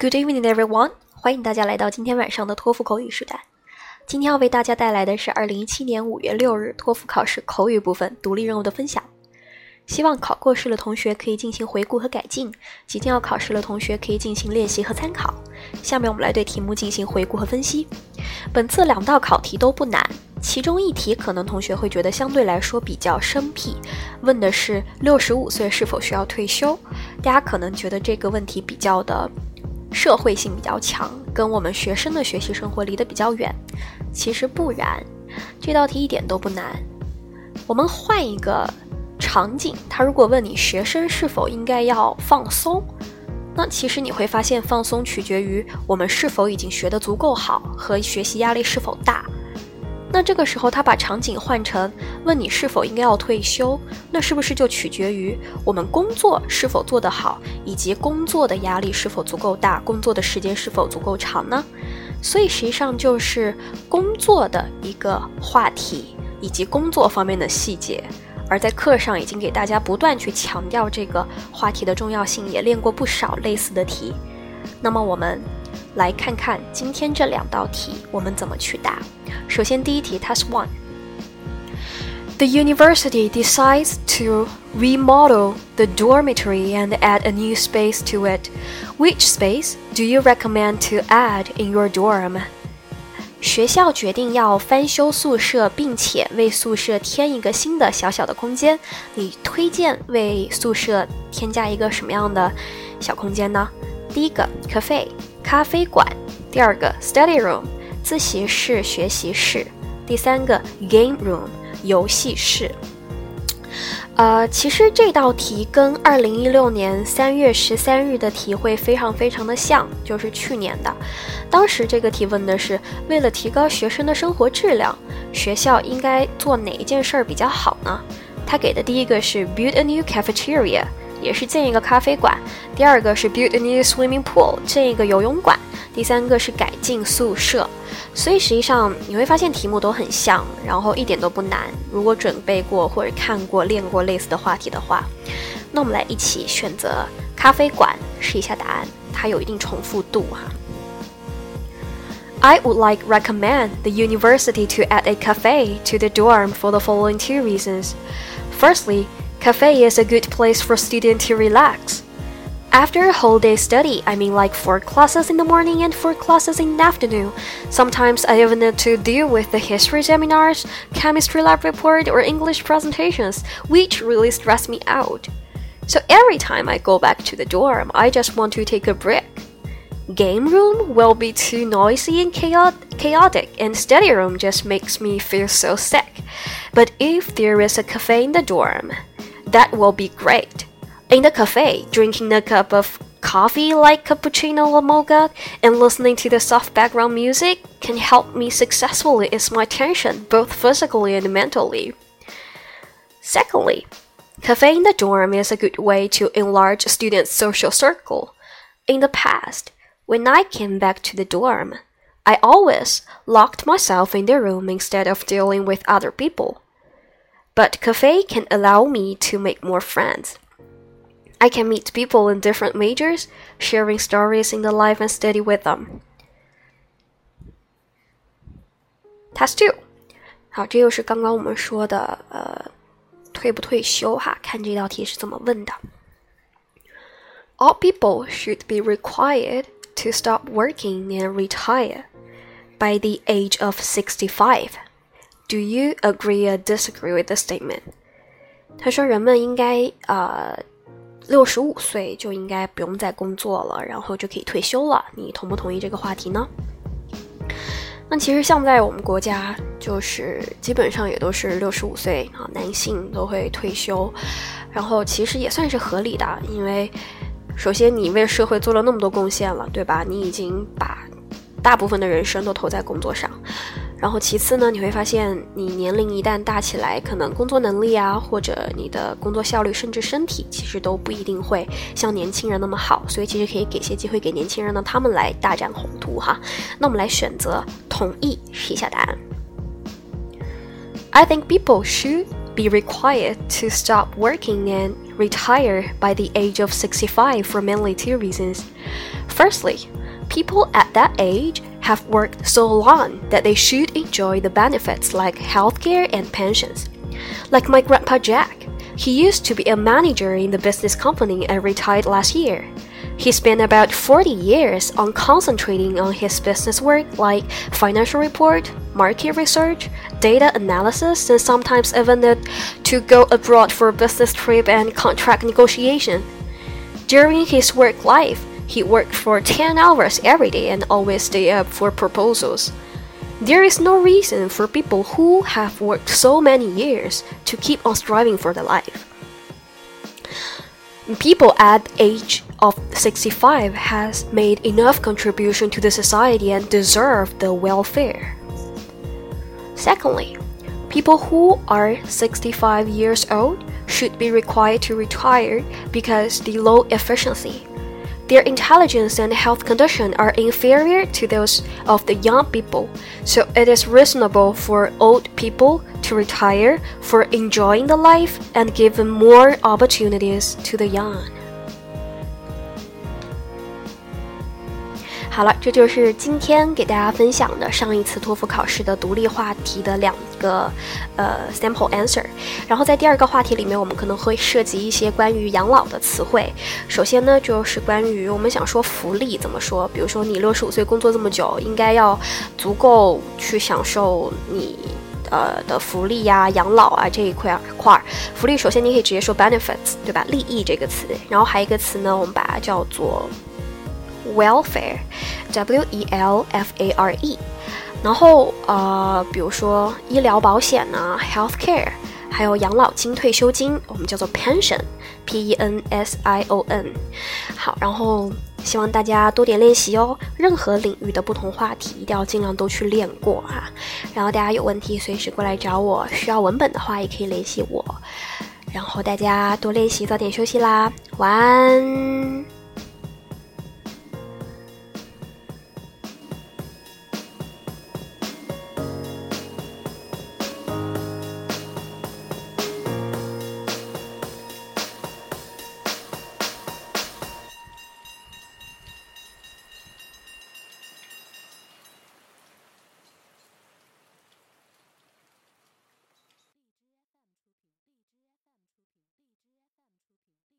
Good evening, everyone！ 欢迎大家来到今天晚上的托福口语时代。今天要为大家带来的是2017年5月6日托福考试口语部分独立任务的分享。希望考过试的同学可以进行回顾和改进，即将要考试的同学可以进行练习和参考。下面我们来对题目进行回顾和分析。本次2道考题都不难，其中一题可能同学会觉得相对来说比较生僻，问的是65岁是否需要退休。大家可能觉得这个问题比较的社会性比较强，跟我们学生的学习生活离得比较远。其实不然，这道题一点都不难。我们换一个场景，他如果问你学生是否应该要放松，那其实你会发现放松取决于我们是否已经学得足够好和学习压力是否大。那这个时候他把场景换成问你是否应该要退休，那是不是就取决于我们工作是否做得好，以及工作的压力是否足够大，工作的时间是否足够长呢？所以实际上就是工作的一个话题以及工作方面的细节，而在课上已经给大家不断去强调这个话题的重要性，也练过不少类似的题。那么我们来看看今天这2道题我们怎么去答。首先第一题 Task 1 The university decides to remodel the dormitory and add a new space to it. Which space do you recommend to add in your dorm? 学校决定要翻修宿舍，并且为宿舍添一个新的小小的空间。你推荐为宿舍添加一个什么样的小空间呢？第一个 Cafe 咖啡馆，第二个 Study Room 自习室学习室，第三个 Game Room 游戏室。其实这道题跟2016年3月13日的题会非常非常的像，就是去年的。当时这个题问的是为了提高学生的生活质量，学校应该做哪一件事儿比较好呢？他给的第一个是 build a new cafeteria， 也是建一个咖啡馆，第二个是 build a new swimming pool， 建一个游泳馆，第三个是改进宿舍。所以实际上你会发现题目都很像，然后一点都不难。如果准备过或者看过练过类似的话题的话，那我们来一起选择咖啡馆试一下答案，它有一定重复度哈。I would recommend the university to add a cafe to the dorm for the following 2 reasons. Firstly, cafe is a good place for students to relax.After a whole day study, I mean like 4 classes in the morning and 4 classes in the afternoon. Sometimes I even need to deal with the history seminars, chemistry lab report, or English presentations, which really stress me out. So every time I go back to the dorm, I just want to take a break. Game room will be too noisy and chaotic, and study room just makes me feel so sick. But if there is a cafe in the dorm, that will be great.In the cafe, drinking a cup of coffee like cappuccino or mocha and listening to the soft background music can help me successfully ease my tension, both physically and mentally. Secondly, cafe in the dorm is a good way to enlarge students' social circle. In the past, when I came back to the dorm, I always locked myself in the room instead of dealing with other people. But cafe can allow me to make more friends.I can meet people in different majors, sharing stories in the life and study with them. Task 2. 好，这又是刚刚我们说的退不退休哈，看这道题是怎么问的。All people should be required to stop working and retire by the age of 65. Do you agree or disagree with the statement? 他说人们应该65岁就应该不用再工作了，然后就可以退休了。你同不同意这个话题呢？那其实像在我们国家，就是基本上也都是65岁啊，男性都会退休，然后其实也算是合理的，因为首先你为社会做了那么多贡献了，对吧？你已经把大部分的人生都投在工作上。然后其次呢，你会发现你年龄一旦大起来，可能工作能力啊，或者你的工作效率，甚至身体，其实都不一定会像年轻人那么好，所以其实可以给些机会给年轻人呢，他们来大展宏图哈。那我们来选择同意试一下答案。I think people should be required to stop working and retire by the age of 65 for mainly 2 reasons. Firstly, people at that age have worked so long that they should enjoy the benefits like healthcare and pensions. Like my grandpa Jack, he used to be a manager in the business company and retired last year. He spent about 40 years on concentrating on his business work like financial report, market research, data analysis, and sometimes even to go abroad for a business trip and contract negotiation. During his work life, he worked for 10 hours every day and always stayed up for proposals. There is no reason for people who have worked so many years to keep on striving for their life. People at the age of 65 has made enough contribution to the society and deserve the welfare. Secondly, people who are 65 years old should be required to retire because the low efficiency. Their intelligence and health condition are inferior to those of the young people, so it is reasonable for old people to retire for enjoying the life and giving more opportunities to the young. 好了，这就是今天给大家分享的上一次托福考试的独立话题的2个sample answer。然后在第2个话题里面，我们可能会涉及一些关于养老的词汇。首先呢，就是关于我们想说福利怎么说，比如说你65岁工作这么久，应该要足够去享受你的福利呀、养老啊这一块。福利首先你可以直接说 benefits， 对吧？利益这个词，然后还有一个词呢，我们把它叫做welfare, W-E-L-F-A-R-E， 然后比如说医疗保险啊 healthcare， 还有养老金、退休金，我们叫做 pension, P-E-N-S-I-O-N。 好，然后希望大家多点练习哦，任何领域的不同话题一定要尽量都去练过啊。然后大家有问题随时过来找我，需要文本的话也可以联系我。然后大家多练习，早点休息啦，晚安。